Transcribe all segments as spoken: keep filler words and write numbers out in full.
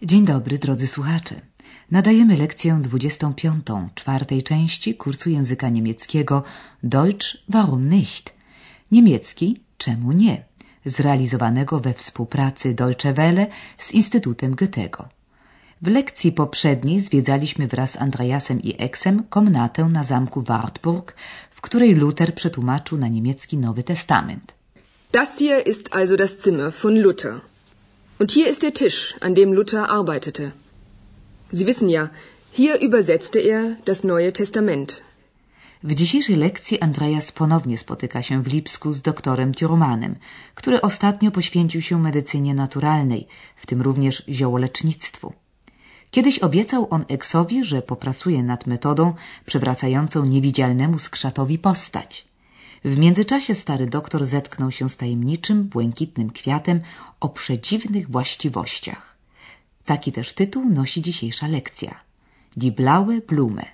Dzień dobry, drodzy słuchacze. Nadajemy lekcję dwudziestą piątą czwartej części kursu języka niemieckiego Deutsch warum nicht? Niemiecki czemu nie? Zrealizowanego we współpracy Deutsche Welle z Instytutem Goethego. W lekcji poprzedniej zwiedzaliśmy wraz z Andreasem i Exem komnatę na zamku Wartburg, w której Luther przetłumaczył na niemiecki Nowy Testament. Das hier ist also das Zimmer von Luther. Und hier ist der Tisch, an dem Luther arbeitete. Sie wissen ja, hier übersetzte er das Neue Testament. W dzisiejszej lekcji Andreas ponownie spotyka się w Lipsku z doktorem Thürmanem, który ostatnio poświęcił się medycynie naturalnej, w tym również ziołolecznictwu. Kiedyś obiecał on Exowi, że popracuje nad metodą przywracającą niewidzialnemu skrzatowi postać. W międzyczasie stary doktor zetknął się z tajemniczym, błękitnym kwiatem o przedziwnych właściwościach. Taki też tytuł nosi dzisiejsza lekcja. Die blaue Blume.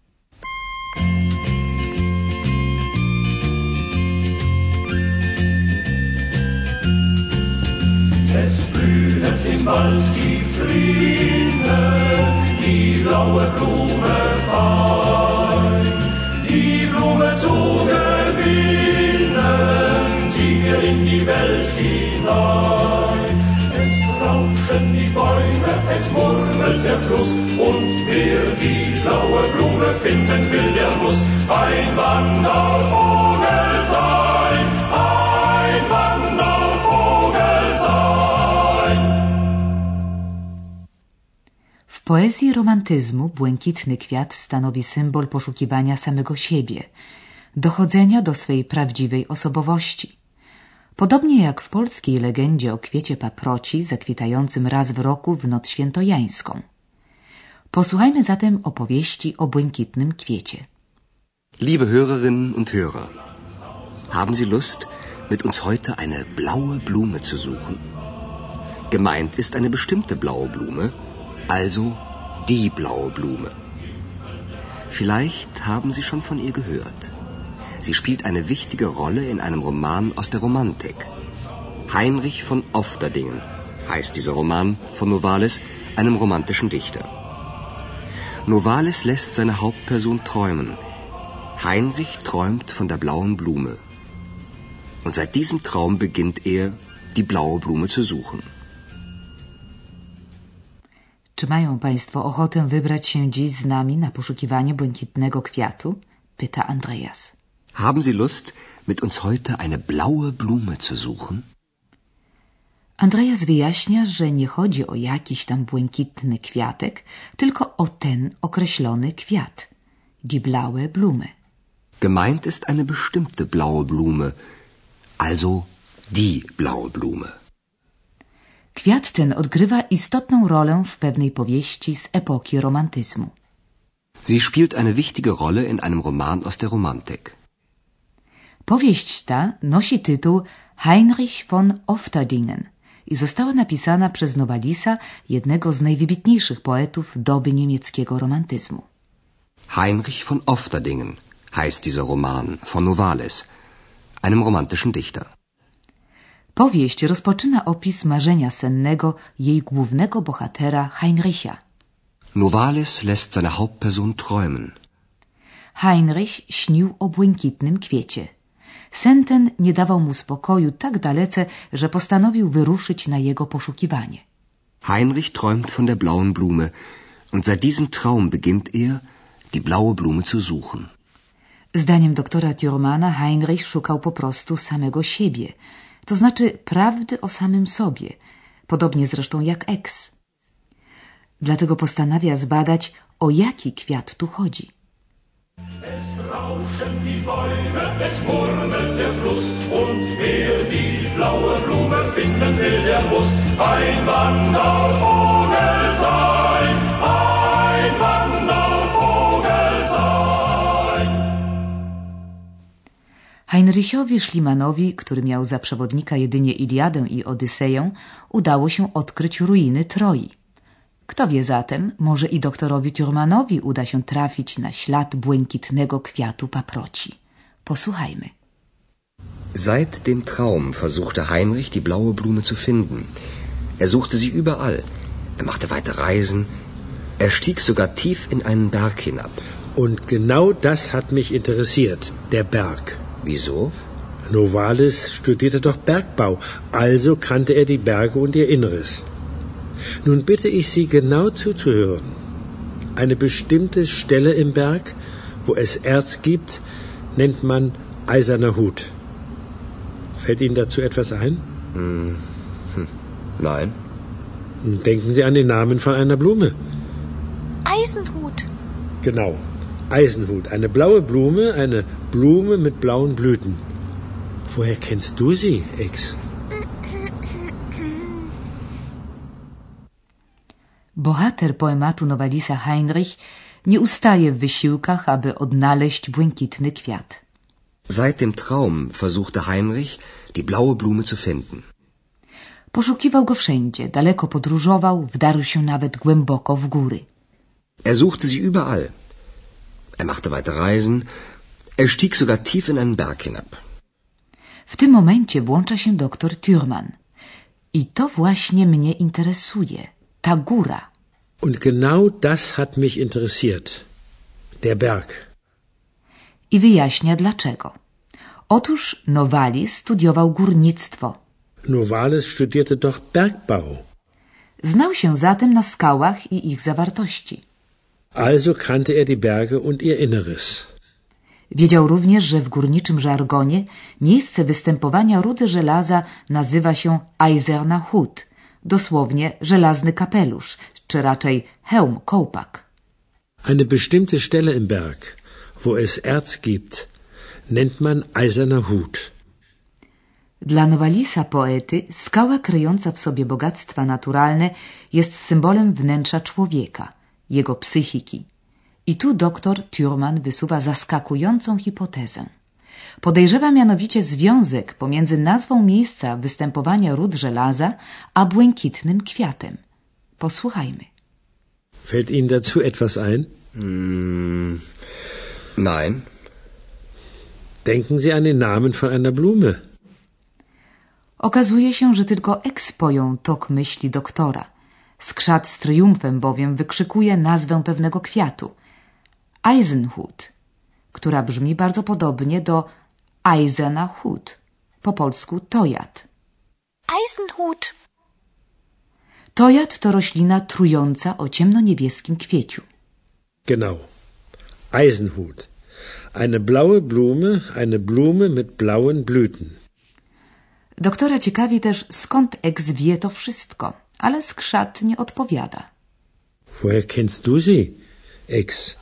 Es blühet im Wald die Fliene, die blaue Blume fein. Die Blume zu gewinnen, zieh wir in die Welt hinein. Es rauschen die Bäume, es murmelt der Fluss, und wer die blaue Blume finden will, der muss ein Wandervogel sein, ein Wandervogel sein. W poezji romantyzmu błękitny kwiat stanowi symbol poszukiwania samego siebie, dochodzenia do swej prawdziwej osobowości. Podobnie jak w polskiej legendzie o kwiecie paproci zakwitającym raz w roku w noc świętojańską. Posłuchajmy zatem opowieści o błękitnym kwiecie. Liebe Hörerinnen und Hörer, haben Sie Lust, mit uns heute eine blaue Blume zu suchen? Gemeint ist eine bestimmte blaue Blume, also die blaue Blume. Vielleicht haben Sie schon von ihr gehört. Sie spielt eine wichtige Rolle in einem Roman aus der Romantik. Heinrich von Ofterdingen heißt dieser Roman von Novalis, einem romantischen Dichter. Novalis lässt seine Hauptperson träumen. Heinrich träumt von der blauen Blume. Und seit diesem Traum beginnt er, die blaue Blume zu suchen. Czy mają Państwo ochotę wybrać się dziś z nami na poszukiwanie błękitnego kwiatu? Pyta Andreas. Haben Sie Lust, mit uns heute eine blaue Blume zu suchen? Andreas wyjaśnia, że nie chodzi o jakiś tam błękitny kwiatek, tylko o ten określony kwiat. Die blaue Blume. Gemeint ist eine bestimmte blaue Blume, also die blaue Blume. Kwiat ten odgrywa istotną rolę w pewnej powieści z epoki romantyzmu. Sie spielt eine wichtige Rolle in einem Roman aus der Romantik. Powieść ta nosi tytuł Heinrich von Ofterdingen i została napisana przez Novalisa, jednego z najwybitniejszych poetów doby niemieckiego romantyzmu. Heinrich von Ofterdingen heißt dieser Roman von Novalis, einem romantischen Dichter. Powieść rozpoczyna opis marzenia sennego jej głównego bohatera Heinricha. Novalis lässt seine Hauptperson träumen. Heinrich śnił o błękitnym kwiecie. Sen ten nie dawał mu spokoju tak dalece, że postanowił wyruszyć na jego poszukiwanie. Heinrich träumt von der blauen Blume und seit diesem Traum beginnt er, die blaue Blume zu suchen. Zdaniem doktora Thürmana Heinrich szukał po prostu samego siebie, to znaczy prawdy o samym sobie, podobnie zresztą jak Ex. Dlatego postanawia zbadać, o jaki kwiat tu chodzi. Es rauschen die Bäume, es murmelt der Fluss, und wer die blaue Blume finden will, der muss ein Wandervogel sein, ein Wandervogel sein. Heinrichowi Schliemannowi, który miał za przewodnika jedynie Iliadę i Odyseję, udało się odkryć ruiny Troi. Kto wie zatem, może i doktorowi Thürmanowi uda się trafić na ślad błękitnego kwiatu paproci. Posłuchajmy. Seit dem Traum versuchte Heinrich, die blaue Blume zu finden. Er suchte sie überall. Er machte weite Reisen. Er stieg sogar tief in einen Berg hinab. Und genau das hat mich interessiert, der Berg. Wieso? Novalis studierte doch Bergbau, also kannte er die Berge und ihr Inneres. Nun bitte ich Sie genau zuzuhören. Eine bestimmte Stelle im Berg, wo es Erz gibt, nennt man Eiserner Hut. Fällt Ihnen dazu etwas ein? Hm. Hm. Nein. Denken Sie an den Namen von einer Blume. Eisenhut. Genau, Eisenhut. Eine blaue Blume, eine Blume mit blauen Blüten. Woher kennst du sie, Ex? Bohater poematu Novalisa Heinrich nie ustaje w wysiłkach, aby odnaleźć błękitny kwiat. Seit dem Traum versuchte Heinrich, die blaue Blume zu finden. Poszukiwał go wszędzie, daleko podróżował, wdarł się nawet głęboko w góry. Er suchte sie überall. Er machte weite Reisen. Er stieg sogar tief in einen Berg hinab. W tym momencie włącza się doktor Thürmann. I to właśnie mnie interesuje. Ta góra. Und genau das hat mich interessiert. Der Berg. I wyjaśnia dlaczego. Otóż Novalis studiował górnictwo. Novalis studierte doch Bergbau. Znał się zatem na skałach i ich zawartości. Also kannte er die Berge und ihr Inneres. Wiedział również, że w górniczym żargonie miejsce występowania rudy żelaza nazywa się Eiserner Hut, dosłownie żelazny kapelusz, czy raczej hełm, kołpak. Eine bestimmte Stelle im Berg, wo es Erz gibt, nennt man Eiserner Hut. Dla Novalisa poety skała kryjąca w sobie bogactwa naturalne jest symbolem wnętrza człowieka, jego psychiki. I tu doktor Thürmann wysuwa zaskakującą hipotezę. Podejrzewa mianowicie związek pomiędzy nazwą miejsca występowania ród żelaza a błękitnym kwiatem. Posłuchajmy. Fällt Ihnen dazu etwas ein? Mm, nein. Denken Sie an den Namen von einer Blume. Okazuje się, że tylko Ex pojął tok myśli doktora. Skrzat z triumfem bowiem wykrzykuje nazwę pewnego kwiatu. Eisenhut, która brzmi bardzo podobnie do Eiserner Hut, po polsku tojat. Eisenhut. Tojat to roślina trująca o ciemnoniebieskim kwieciu. Genau. Eisenhut. Eine blaue Blume, eine Blume mit blauen Blüten. Doktora ciekawi też, skąd Ex wie to wszystko, ale skrzat nie odpowiada. Woher kennst du sie, Ex?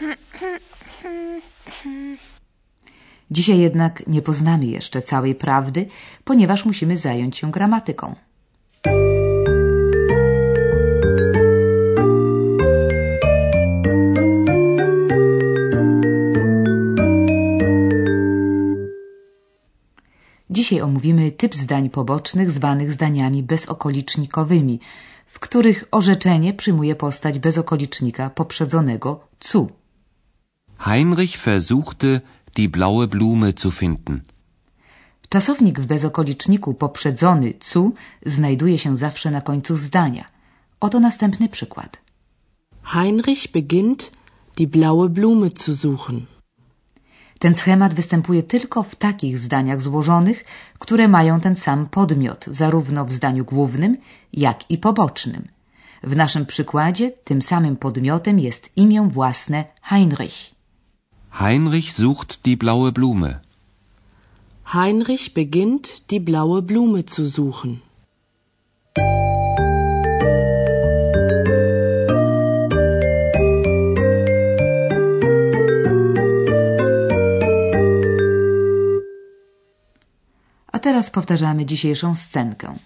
Dzisiaj jednak nie poznamy jeszcze całej prawdy, ponieważ musimy zająć się gramatyką. Dzisiaj omówimy typ zdań pobocznych zwanych zdaniami bezokolicznikowymi, w których orzeczenie przyjmuje postać bezokolicznika poprzedzonego zu. Heinrich versuchte, die blaue Blume zu finden. Czasownik w bezokoliczniku poprzedzony zu znajduje się zawsze na końcu zdania. Oto następny przykład. Heinrich beginnt, die blaue Blume zu suchen. Ten schemat występuje tylko w takich zdaniach złożonych, które mają ten sam podmiot, zarówno w zdaniu głównym, jak i pobocznym. W naszym przykładzie tym samym podmiotem jest imię własne Heinrich. Heinrich sucht die blaue Blume. Heinrich beginnt, die blaue Blume zu suchen. A teraz powtarzamy dzisiejszą scenkę.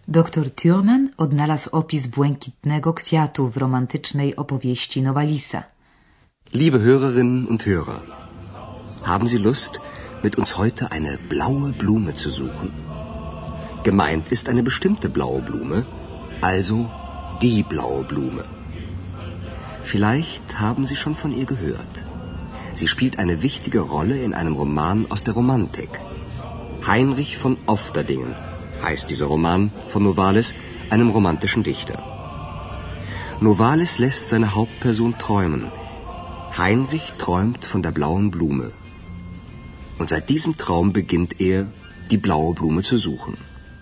Doktor Thürmann odnalazł opis błękitnego kwiatu w romantycznej opowieści Novalisa. Liebe Hörerinnen und Hörer, haben Sie Lust, mit uns heute eine blaue Blume zu suchen? Gemeint ist eine bestimmte blaue Blume, also die blaue Blume. Vielleicht haben Sie schon von ihr gehört. Sie spielt eine wichtige Rolle in einem Roman aus der Romantik. Heinrich von Ofterdingen heißt dieser Roman von Novalis, einem romantischen Dichter. Novalis lässt seine Hauptperson träumen. Heinrich träumt von der blauen Blume. Und seit diesem Traum beginnt er, die blaue Blume zu suchen.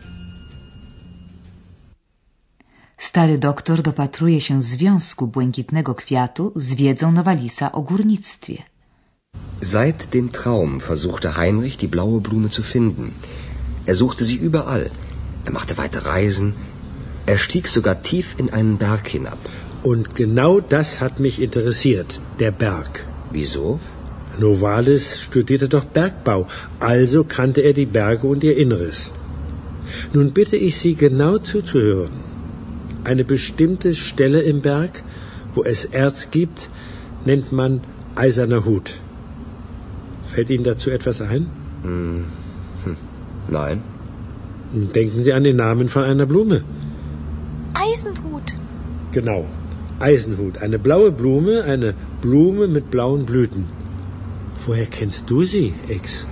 Stary doktor dopatruje się związku błękitnego kwiatu z wiedzą Novalisa o górnictwie. Seit dem Traum versuchte Heinrich, die blaue Blume zu finden. Er suchte sie überall. Er machte weite Reisen. Er stieg sogar tief in einen Berg hinab. Und genau das hat mich interessiert, der Berg. Wieso? Novalis studierte doch Bergbau, also kannte er die Berge und ihr Inneres. Nun bitte ich Sie genau zuzuhören. Eine bestimmte Stelle im Berg, wo es Erz gibt, nennt man Eiserner Hut. Fällt Ihnen dazu etwas ein? Hm. Hm. Nein. Denken Sie an den Namen von einer Blume. Eisenhut. Genau, Eisenhut. Eine blaue Blume, eine Blume mit blauen Blüten. Woher kennst du sie, Ex?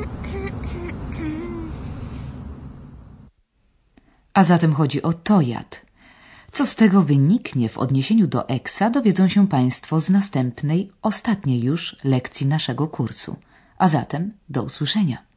A zatem chodzi o tojad. Co z tego wyniknie w odniesieniu do Exa, dowiedzą się Państwo z następnej, ostatniej już lekcji naszego kursu. A zatem do usłyszenia.